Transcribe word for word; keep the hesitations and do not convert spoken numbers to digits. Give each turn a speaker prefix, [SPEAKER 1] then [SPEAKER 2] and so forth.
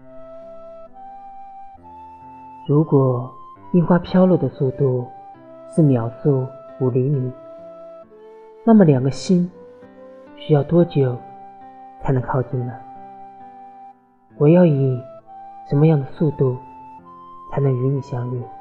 [SPEAKER 1] 如果樱花飘落的速度是秒速五厘米，那么两个心需要多久才能靠近呢？我要以什么样的速度才能与你相遇？